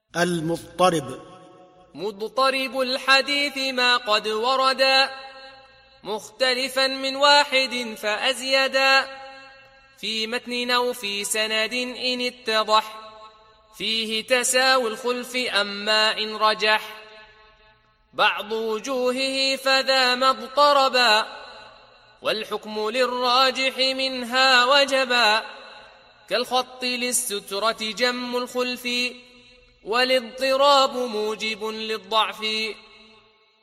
المضطرب. مضطرب الحديث ما قد وردا مختلفا من واحد فأزيدا في متن أو في سند إن اتضح فيه تساوي الخلف أما إن رجح بعض وجوهه فذا ما اضطربا والحكم للراجح منها وجبا كالخط للسترة جم الخلف والاضطراب موجب للضعف